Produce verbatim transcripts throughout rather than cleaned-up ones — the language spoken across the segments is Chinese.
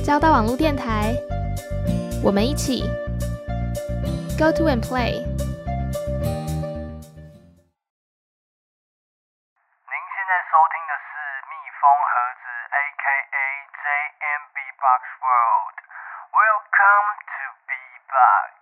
交大網絡電台，我們一起 Go to and play。 您現在收聽的是蜜蜂盒子 A K A J M Beatbox World。Welcome to Beatbox。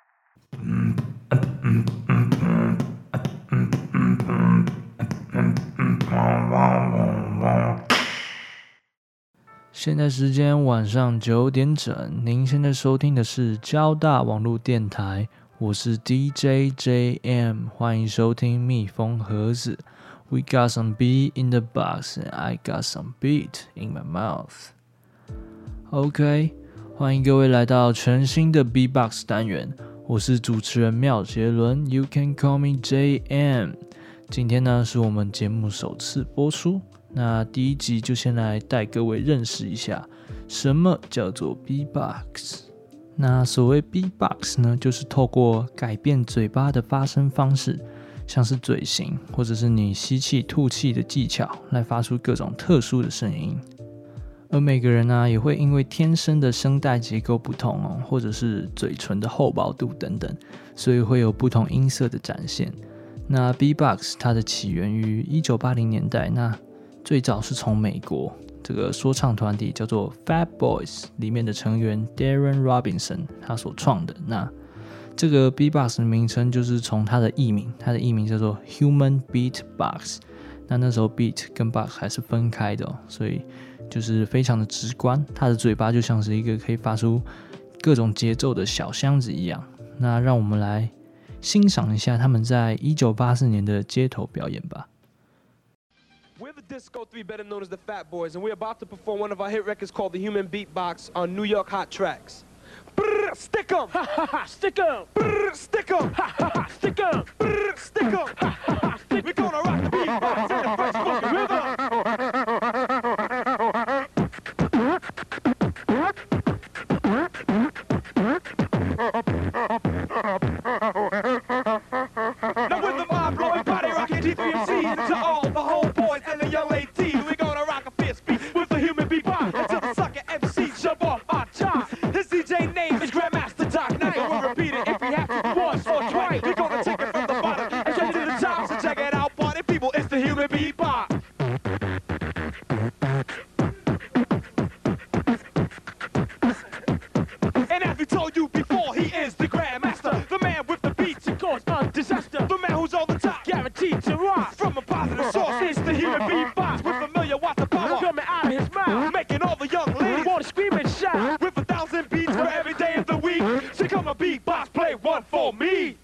現在時間晚上九點整，您現在收聽的是交大網絡電台，我是 D J J M， 歡迎收聽蜜蜂盒子。We got some beat in the box, and I got some beat in my mouth. OK， 歡迎各位來到全新的 Beatbox 單元，我是主持人妙杰倫 ，You can call me J M。今天呢是我們節目首次播出。那第一集就先來帶各位認識一下什麼叫做 Beatbox。那所謂 Beatbox 呢，就是透過改變嘴巴的發聲方式，像是嘴型或者是你吸氣吐氣的技巧，來發出各種特殊的聲音。而每個人呢，也會因為天生的聲帶結構不同哦，或者是嘴唇的厚薄度等等，所以會有不同音色的展現。那 Beatbox 它的起源於一九八零年代，那最早是從美國這個說唱團體叫做 Fat Boys 裡面的成員 Darren Robinson 他所創的。那這個 Beatbox 的名稱就是從他的藝名，他的藝名叫做 Human Beatbox。那那時候 Beat 跟 Box 還是分開的哦，所以就是非常的直觀，他的嘴巴就像是一個可以發出各種節奏的小箱子一樣。那讓我們來欣賞一下他們在一九八四年的街頭表演吧。 We're the Disco Three, better known as the Fat Boys, and we're about to perform one of our hit records called The Human Beatbox on New York Hot Tracks. Brrr, stick 'em! Ha ha ha, stick 'em! Brrr, stick 'em! Ha ha ha, stick 'em! Brrr, stick 'em! Ha ha ha, stick 'em! We're gonna rock the beatbox in a fresh funky rhythm! Now with the mob blowing, body rocking T three M C, and to all the homeboys and the young ladies, we're gonna rock a fist beat with the human beatbox until the sucker M C jump off our top. His D J name is Grandmaster Doc Knight. We'll repeat it if we have to once or twice. We're gonna take it from the bottom and straight to the top. So check it out, party people, it's the human beatbox. And as we told you before, he is the Grandmaster, the man with the beats to cause a disaster, the man who's on the top, guaranteed to rock. From a positive source, it's the human beatbox with familiar watts of power coming out of his mouth, making all the young ladies wanna scream and shout. With a thousand beats for every day of the week, so come on beatbox, play one for me.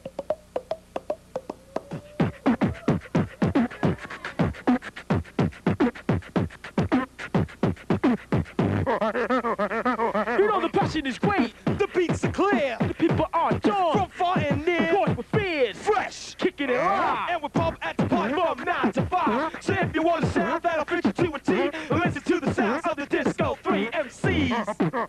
You know the passion is great, the beats are clear, the people are drawn from far and near. Boys with fears, fresh, kicking it live, and we're pumped at the party from nine to five. So if you want a sound that'll fit you to a T, listen to the sounds of the Disco Three M Cs.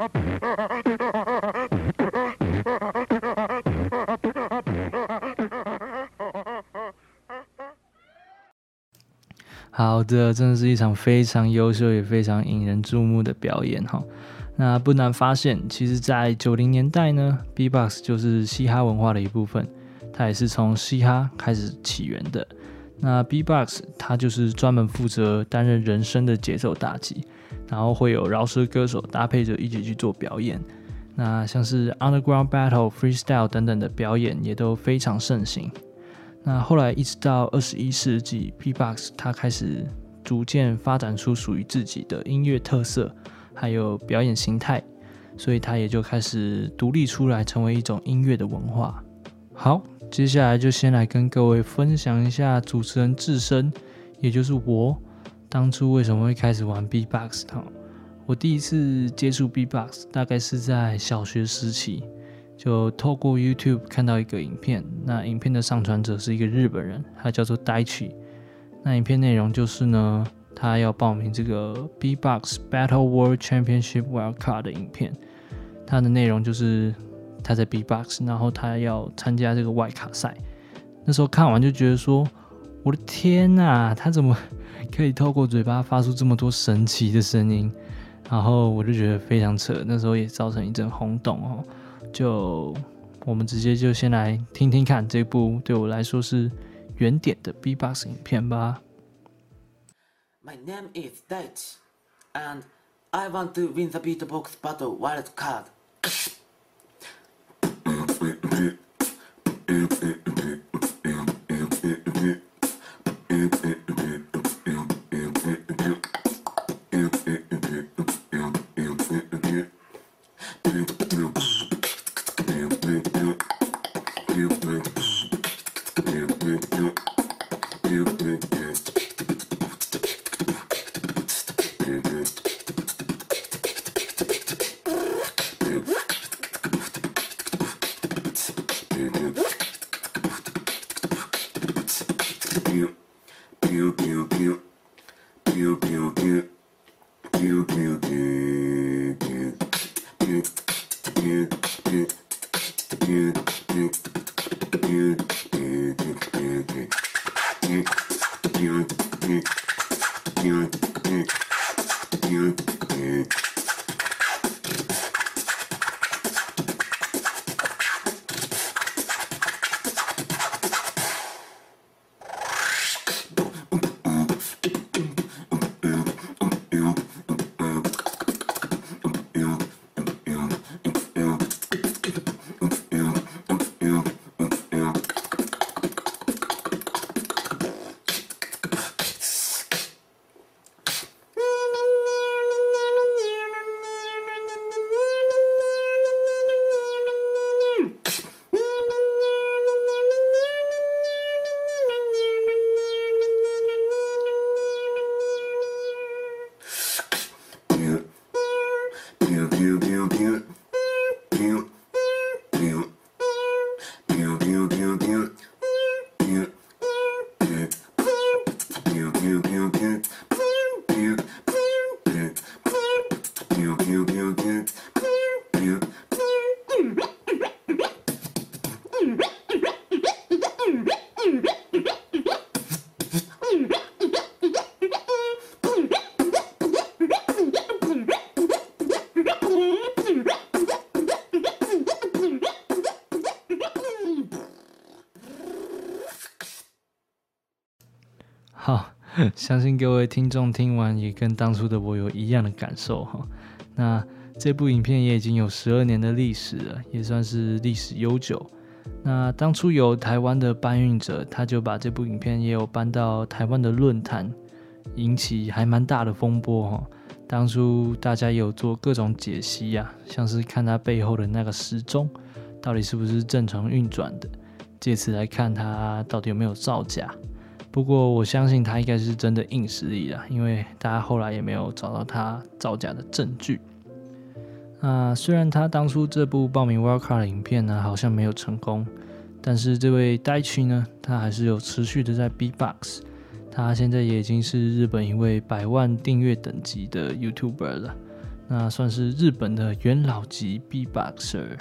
好的，真的是一場非常優秀也非常引人注目的表演哈。那不難發現，其實在九零年代呢 ，Beatbox 就是嘻哈文化的一部分，它也是從嘻哈開始起源的。那 Beatbox 它就是專門負責擔任人聲的節奏打擊，然後會有饒舌歌手搭配着一起去做表演。那像是 Underground Battle、Freestyle 等等的表演也都非常盛行。那後來一直到二十一世紀 ，Beatbox 它開始逐漸發展出屬於自己的音樂特色，還有表演形態，所以它也就開始獨立出來，成為一種音樂的文化。好，接下來就先來跟各位分享一下主持人自身，也就是我當初為什麼會開始玩 Beatbox。我第一次接觸 Beatbox 大概是在小學時期。就透過 YouTube 看到一個影片，那影片的上傳者是一個日本人，他叫做 Daichi。那影片內容就是呢，他要報名這個 Beatbox Battle World Championship Wildcard 的影片。他的內容就是他在 Beatbox， 然後他要參加這個外卡賽。那時候看完就覺得說，我的天哪，他怎麼可以透過嘴巴發出這麼多神奇的聲音？ 然後我就覺得非常扯，那時候也造成一陣轟動哦。就我們直接就先來聽聽看這部對我來說是原點的 B-box 影片吧。 My name is Daichi, and I want to win the beatbox battle wild card. 好，相信各位聽眾聽完也跟當初的我有一樣的感受哈。那這部影片也已經有十二年的歷史了，也算是歷史悠久。那當初有台灣的搬運者，他就把這部影片也有搬到台灣的論壇，引起還蠻大的風波哈。當初大家也有做各種解析啊，像是看它背後的那個時鐘到底是不是正常運轉的，借此來看它到底有沒有造假。不過我相信他應該是真的硬實力啦，因為大家後來也沒有找到他造假的證據。那雖然他當初這部報名 Wildcard 的影片呢好像沒有成功，但是這位 Daichi 呢，他還是有持續的在 B-box。他現在也已經是日本一位百萬訂閱等級的 YouTuber 了，那算是日本的元老級 B-boxer。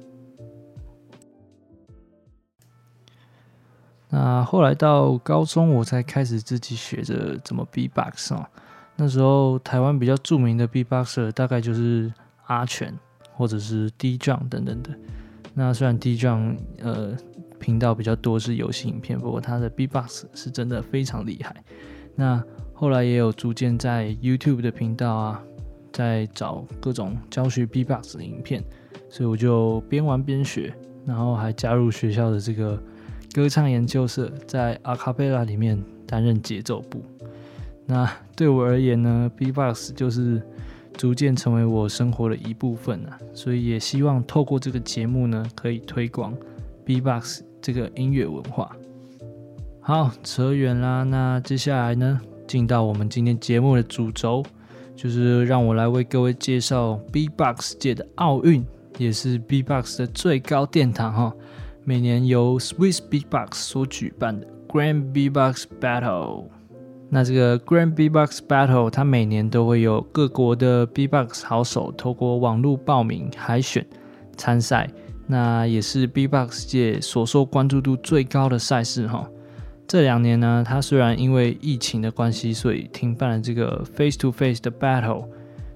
那後來到高中，我才開始自己學着怎麼 B-box 哦。那時候台灣比較著名的 B-boxer 大概就是阿全或者是 D-Jong 等等的。那雖然 D-Jong 呃頻道比較多是遊戲影片，不過他的 B-box 是真的非常厲害。那後來也有逐漸在 YouTube 的頻道啊，在找各種教學 B-box 的影片，所以我就邊玩邊學，然後還加入學校的這個歌唱研究社，在 Acapella 裡面擔任節奏部。那對我而言呢 ，B-box 就是逐漸成為我生活的一部分啊，所以也希望透過這個節目呢，可以推廣 B-box 這個音樂文化。好，扯遠啦，那接下來呢，進到我們今天節目的主軸，就是讓我來為各位介紹 B-box 界的奧運，也是 B-box 的最高殿堂哈。每年由 Swiss Beatbox 所舉辦的 Grand B-box Battle。那這個 Grand B-box Battle 它每年都會有各國的 B-box 好手透過網絡報名海選參賽，那也是 B-box 界所受關注度最高的賽事哈。這兩年呢，它雖然因為疫情的關係，所以停辦了這個 face to face 的 battle，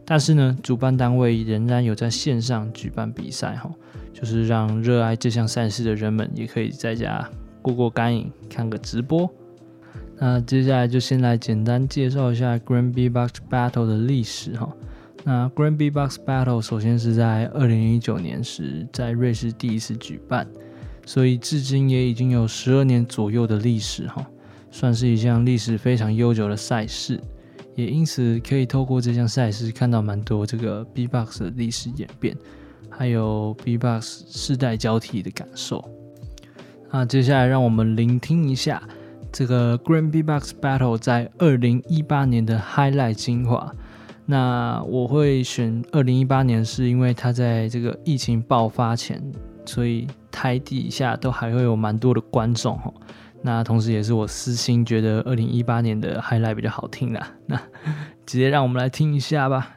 但是呢，主辦單位仍然有在線上舉辦比賽哈，就是讓熱愛這項賽事的人們也可以在家過過乾癮，看個直播。那接下來就先來簡單介紹一下 Grand Beatbox Battle 的歷史哈。那 Grand Beatbox Battle 首先是在二零一九年時在瑞士第一次舉辦，所以至今也已經有十二年左右的歷史哈，算是一項歷史非常悠久的賽事。也因此可以透過這項賽事看到蠻多這個 Beatbox 的歷史演變，還有 Beatbox 世代交替的感受。那接下來讓我們聆聽一下這個 Grand Beatbox Battle 在二零一八年的 highlight 精華。那我會選二零一八年是因為它在這個疫情爆發前，所以台底下都還會有蠻多的觀眾。那同時也是我私心覺得二零一八年的 highlight 比較好聽啦，那直接讓我們來聽一下吧。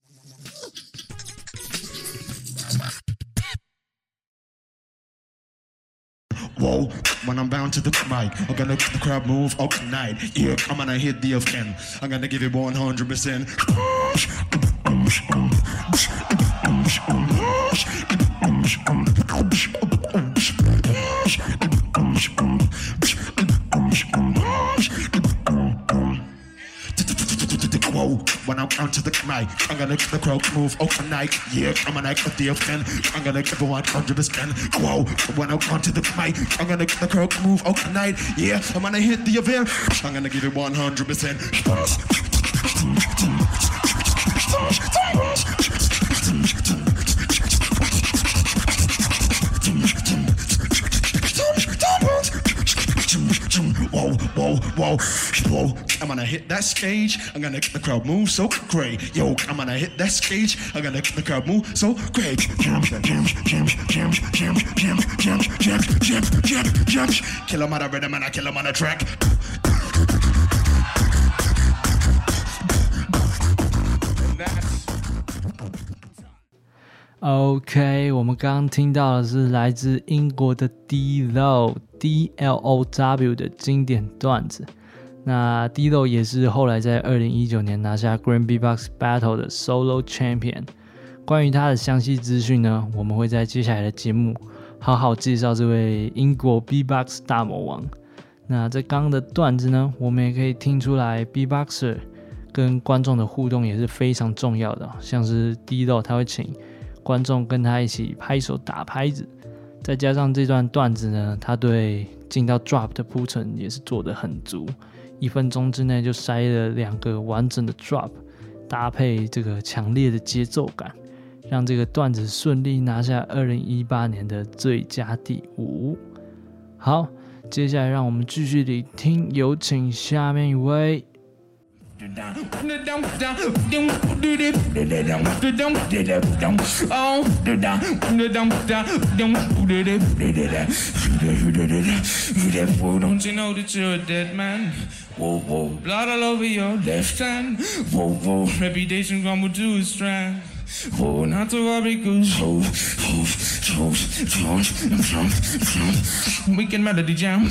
Whoa, when I'm bound to the mic, I'm gonna make the crowd move all night. Yeah, I'm gonna hit the fan. I'm gonna give it one hundred percent. Whoa, when I'm onto the mic, I'm gonna make the crowd move overnight. Yeah, I'm gonna get the fan. I'm gonna give it one hundred percent. Whoa, when I'm onto the mic, I'm gonna make the crowd move overnight. Yeah, I'm gonna hit the event. I'm gonna give it one hundred percent. Whoa, whoa, whoa, whoa. I'm gonna hit that stage. I'm gonna make the crowd move so great. Yo, I'm gonna hit that stage. I'm gonna make the crowd move so great. Jam, jam, jam, jam, jam, jam, jam, jam, jam, jam, jam, jam. Kill 'em on a rhythm and I kill 'em on a track. OK， 我們剛剛聽到的是來自英國的 D-Lo D L O W 的經典段子。那 D-Lo 也是後來在二零一九年拿下 Grand Beatbox Battle 的 Solo Champion。關於他的詳細資訊呢，我們會在接下來的節目好好介紹這位英國 Beatbox 大魔王。那在剛剛的段子呢，我們也可以聽出來 Beatboxer 跟觀眾的互動也是非常重要的，像是 D-Lo 他會請觀眾跟他一起拍手打拍子，再加上這段段子呢，他對進到 drop 的鋪陳也是做得很足，一分鐘之內就塞了兩個完整的 drop， 搭配這個強烈的節奏感，讓這個段子順利拿下二零一八年的最佳第五。好，接下來讓我們繼續聆聽，有請下面一位。Oh, don't you know that you're a dead man? Whoa, whoa, blood all over your left hand. Whoa, whoa, reputation crumble to a strand. Whoa, not to worry, cause ho, ho, ho, ho, ho, ho. We can melody jam.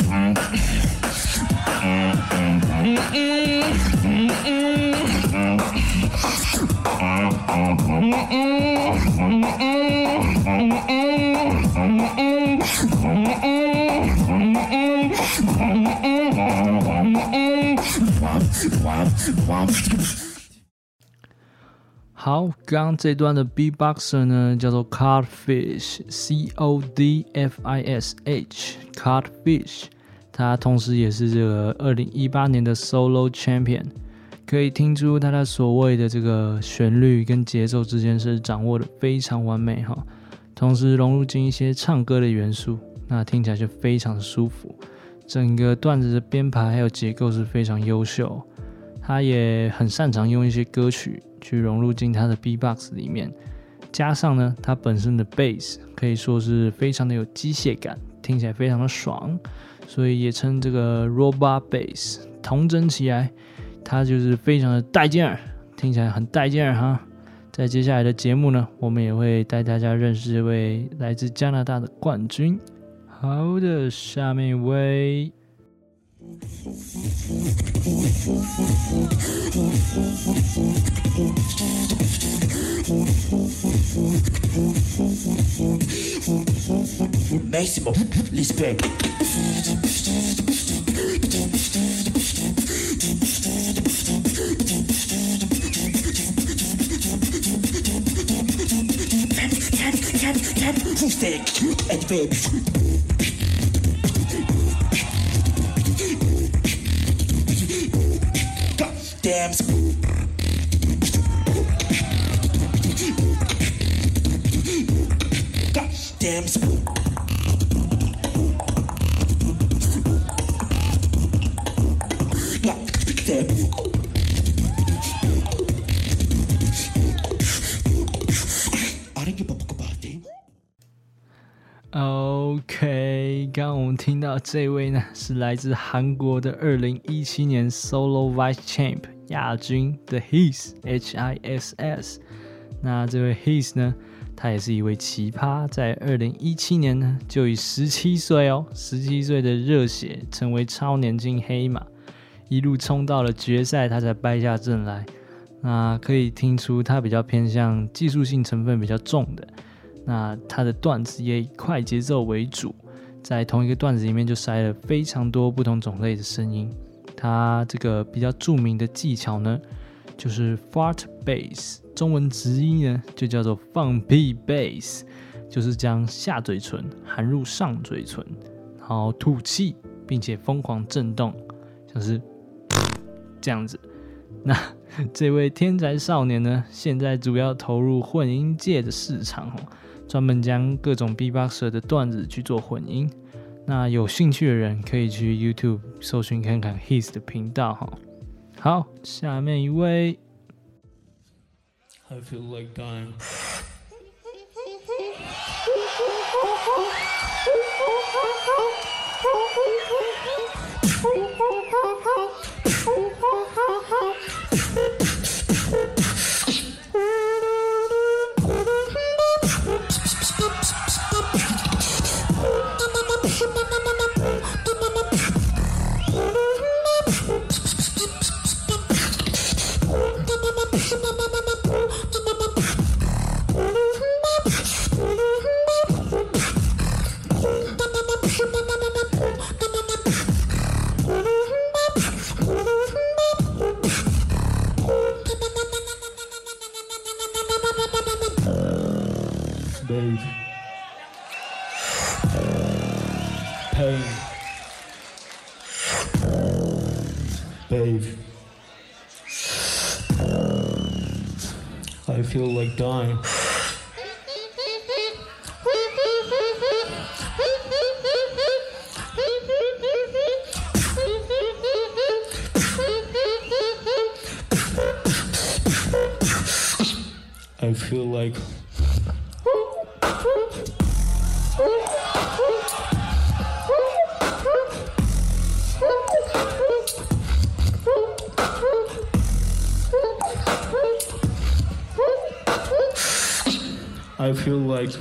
好，剛剛這段的 Beatboxer 呢，叫做 Codfish C O D F I S H Codfish， 他同時也是這個二零一八年的 Solo Champion， 可以聽出他的所謂的這個旋律跟節奏之間是掌握的非常完美哈，同時融入進一些唱歌的元素，那聽起來就非常舒服。整個段子的編排還有結構是非常優秀，他也很擅長用一些歌曲去融入進他的 Beatbox 裡面，加上呢，他本身的 Bass 可以說是非常的有機械感，聽起來非常的爽，所以也稱這個 Robot Bass。統整起來，他就是非常的帶勁兒，聽起來很帶勁兒哈。在接下來的節目呢，我們也會帶大家認識一位來自加拿大的冠軍。好的，下面一位。 Máximo respect. Damn. Damn. OK， 剛剛我們聽到這位呢，是來自韓國的二零一七年 Solo Vice Champ 亞軍的 Hiss H I S S。那這位 Hiss 呢，他也是一位奇葩，在二零一七年呢，就以十七歲哦，十七歲的熱血成為超年輕黑馬，一路衝到了決賽，他才敗下陣來。那可以聽出他比較偏向技術性成分比較重的。那他的段子也以快節奏為主，在同一個段子裡面就塞了非常多不同種類的聲音。他這個比較著名的技巧呢，就是 fart bass， 中文直譯呢就叫做放屁 bass， 就是將下嘴唇含入上嘴唇，然後吐氣，並且瘋狂震動，像是這樣子。那這位天才少年呢，現在主要投入混音界的市場哦，專門將各種 B-boxer 的段子去做混音。那有興趣的人可以去 YouTube 搜尋看看 Hiss 的頻道哈。好，下面一位。 I feel like dying. Babe. Pain. Babe. I feel like dying. I feel like I feel like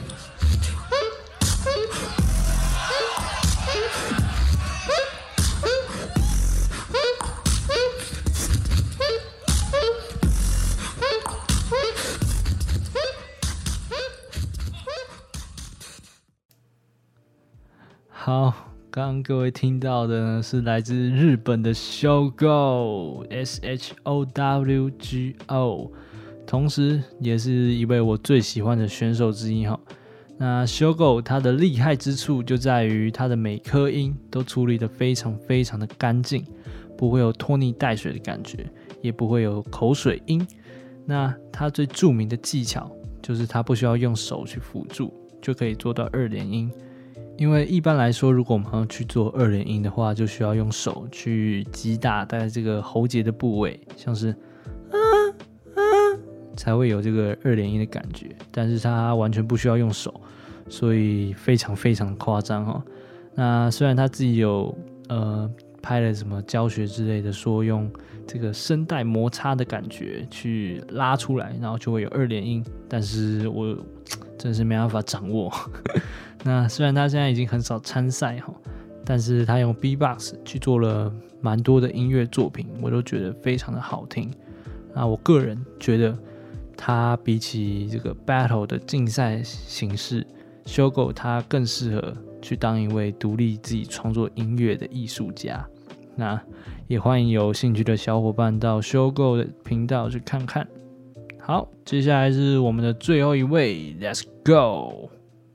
好，剛剛各位聽到的呢，是來自日本的 Shogo S H O W G O， 同時也是一位我最喜歡的選手之一哈。那 Shogo 他的厲害之處就在於他的每顆音都處理得非常非常的乾淨，不會有拖泥帶水的感覺，也不會有口水音。那他最著名的技巧就是他不需要用手去輔助，就可以做到二連音。因為一般來說，如果我們要去做二連音的話，就需要用手去擊打在這個喉結的部位，像是啊啊，才會有這個二連音的感覺。但是他完全不需要用手，所以非常非常誇張哈。那雖然他自己有呃拍了什麼教學之類的，說用這個聲帶摩擦的感覺去拉出來，然後就會有二連音，但是我真是沒辦法掌握。那雖然他現在已經很少參賽哈， 但是他用 beatbox 去做了蠻多的音樂作品，我都覺得非常的好聽。那我個人覺得他比起這個 battle 的競賽形式，Shogo 他更適合去當一位獨立自己創作音樂的藝術家。那也歡迎有興趣的小夥伴到 Shogo 的頻道去看看。好，接下來是我們的最後一位 ，Let's go。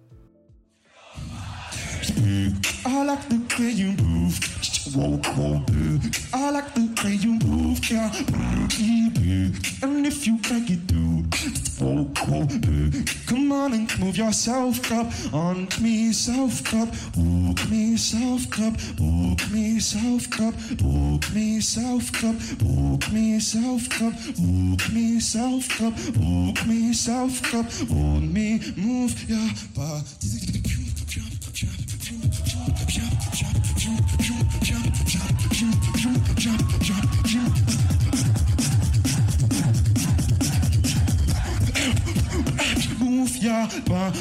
I like the way you move. Whoa, whoa, I like the way you move, yeah. And if you like it too, whoa, whoa, come on and move yourself up on me, self up, hook me, self up, hook me, self up, hook me, self up, hook me, self up, hook me, self up, hook me, self up, on me, move your body. Move your body.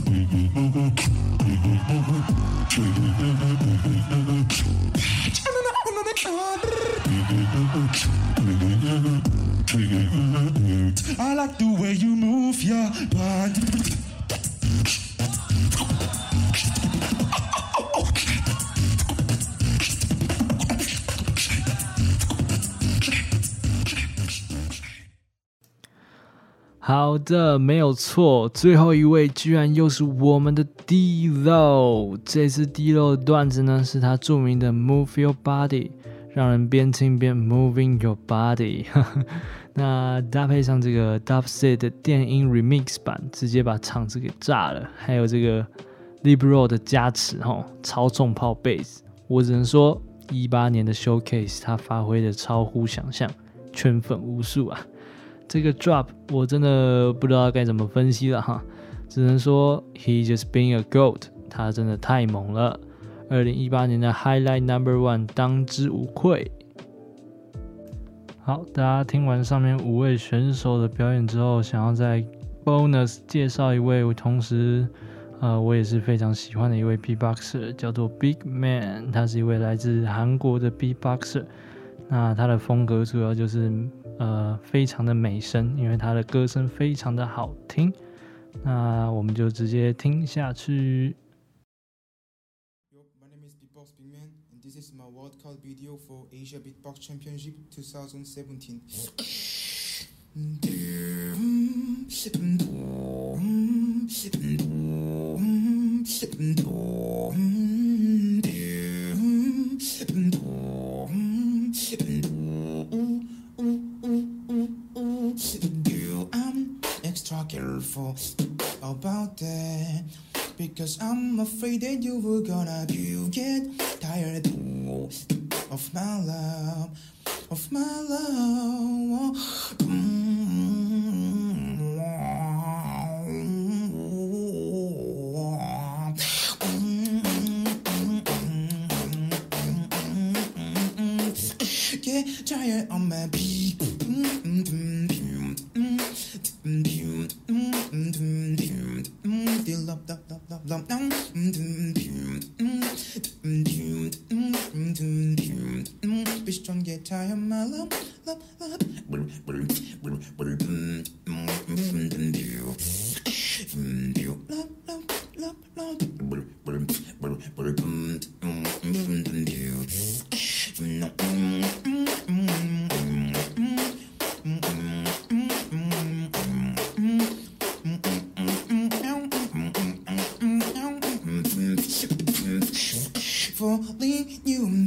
I like the way you move your body. 好的，沒有錯，最後一位居然又是我們的 D-Lo。這次 D-Lo 的段子呢，是他著名的 Move Your Body， 讓人邊聽邊 Moving Your Body 。那搭配上這個 Dubstep 的電音 Remix 版，直接把場子給炸了。還有這個 Libro 的加持，超重炮 Bass， 我只能說一八年的 Showcase 他發揮的超乎想象，圈粉無數啊。這個 drop 我真的不知道該怎麼分析了哈，只能說 he just being a goat， 他真的太猛了。二零一八年的 Highlight Number One 當之無愧。好，大家聽完上面五位選手的表演之後，想要再 bonus 介紹一位，同時呃我也是非常喜歡的一位 beatboxer， 叫做 Big Man， 他是一位來自韓國的 beatboxer。那他的風格主要就是呃非常的美聲，因為他的歌聲非常的好聽。那我們就直接聽下去。 Yo, my name is Beatbox Big Man, and this is my world card video for Asia Beatbox Championship twenty seventeen. I'm extra careful about that, because I'm afraid that you were gonna get tired of my love, of my love. Get tired on my beat. Be strong, get tired, my love, love, love. Falling you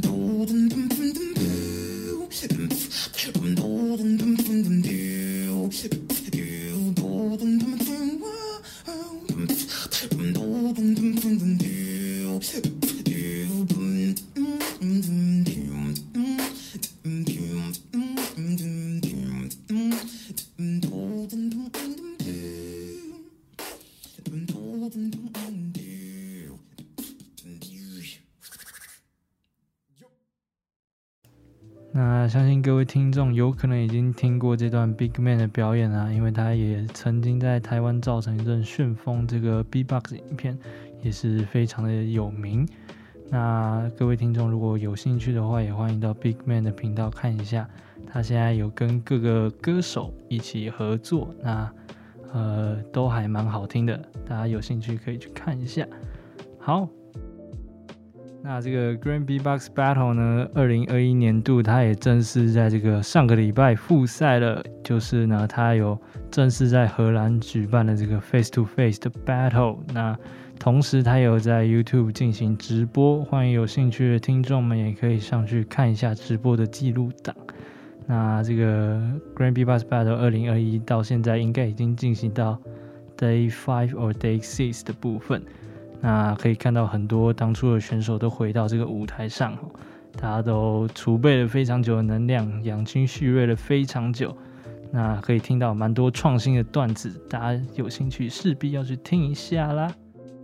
那相信各位聽眾有可能已經聽過這段 Big Man 的表演啊，因為他也曾經在台灣造成一陣旋風，這個 Beatbox 影片也是非常的有名。 那各位聽眾如果有興趣的話，也歡迎到 Big Man 的頻道看一下，他現在有跟各個歌手一起合作，那呃都還蠻好聽的，大家有興趣可以去看一下。好，那這個 Grand Beatbox Battle 呢，二零二一年度它也正式在這個上個禮拜復賽了，就是呢它有正式在荷蘭舉辦了這個 Face to Face 的 Battle， 那同時它有在 YouTube 進行直播，歡迎有興趣的聽眾們也可以上去看一下直播的記錄檔。那這個 Grand Beatbox Battle 二零二一到現在應該已經進行到 Day five or Day six 的部分，那可以看到很多當初的選手都回到這個舞台上，大家都儲備了非常久的能量，養精蓄銳了非常久，那可以聽到蠻多創新的段子，大家有興趣勢必要去聽一下啦。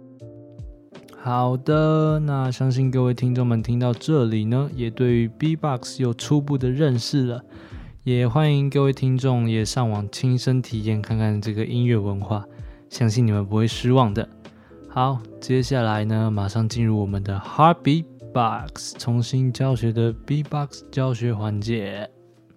好的，那相信各位聽眾們聽到這裡呢，也對於 Beatbox 有初步的認識了，也歡迎各位聽眾也上網親身體驗看看這個音樂文化，相信你們不會失望的。好，接下來呢，馬上進入我們的 Hard Beatbox 重新教學的 Beatbox 教學環節。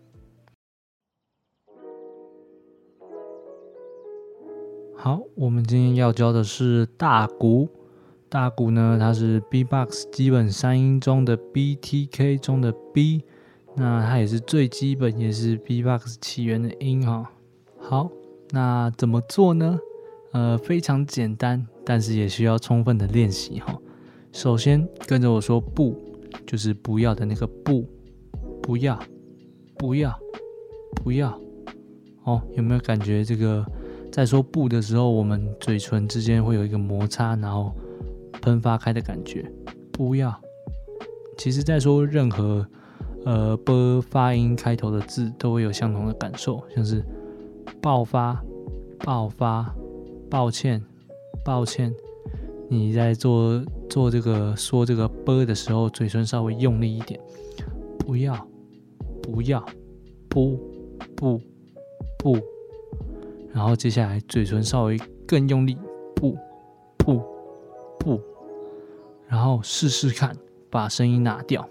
好，我們今天要教的是大鼓。大鼓呢，它是 Beatbox 基本三音中的 B T K 中的 B， 那它也是最基本，也是 Beatbox 起源的音哈。好，那怎麼做呢？呃，非常簡單，但是也需要充分的練習哈。首先跟着我說不，就是不要的那個不，不要，不要，不要。哦，有沒有感覺這個在說不的時候，我們嘴唇之間會有一個摩擦，然後噴發開的感覺？不要。其實在說任何呃 b 發音開頭的字都會有相同的感受，像是爆發、爆發、抱歉、抱歉。你在做做這個說這個 b 的時候，嘴唇稍微用力一點。不要，不要，不不不。然後接下來嘴唇稍微更用力，不不不。然後試試看，把聲音拿掉，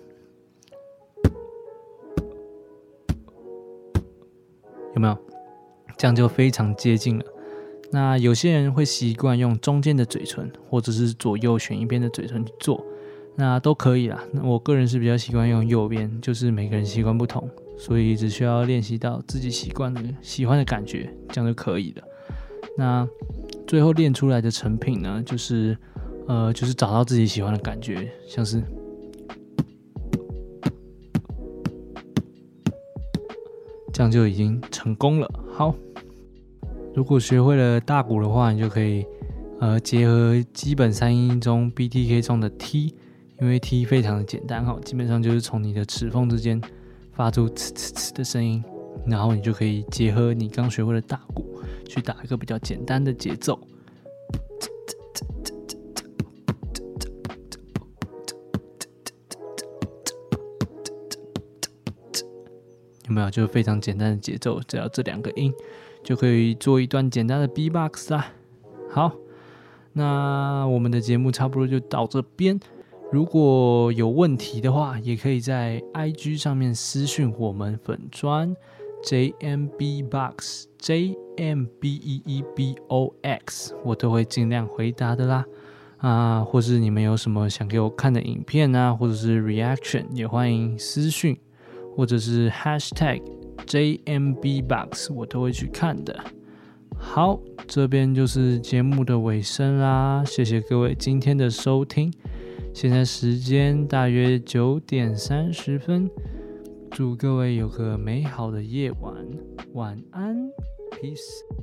有沒有？這樣就非常接近了。那有些人會習慣用中間的嘴唇，或者是左右選一邊的嘴唇去做，那都可以啦。那我個人是比較習慣用右邊，就是每個人習慣不同，所以只需要練習到自己習慣的、喜歡的感覺，這樣就可以了。那最後練出來的成品呢，就是。呃，就是找到自己喜歡的感覺，像是這樣就已經成功了。好，如果學會了大鼓的話，你就可以呃結合基本三音中 B T K 中的 T， 因為 T 非常的簡單哈，基本上就是從你的齒縫之間發出呲呲呲的聲音，然後你就可以結合你剛學會的大鼓，去打一個比較簡單的節奏。有沒有？就是非常簡單的節奏，只要這兩個音就可以做一段簡單的 Beatbox 啦。好，那我們的節目差不多就到這邊。如果有問題的話，也可以在 I G 上面私訊我們粉專 J M B Box J M B E E B O X， 我都會盡量回答的啦。啊，或是你們有什麼想給我看的影片啊，或者是 reaction， 也歡迎私訊。或者是 hashtag J M B Box， 我都會去看的。好，這邊就是節目的尾聲啦，謝謝各位今天的收聽。現在時間大約九點三十分，祝各位有個美好的夜晚，晚安 ，peace。